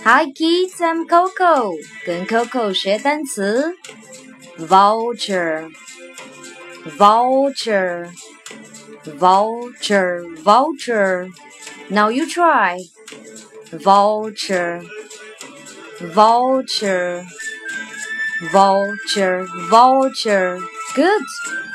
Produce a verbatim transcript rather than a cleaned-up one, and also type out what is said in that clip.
Hi kids, I'm Coco. 跟 Coco 学单词 Vulture Vulture Vulture Vulture Now you try Vulture Vulture Vulture Vulture Good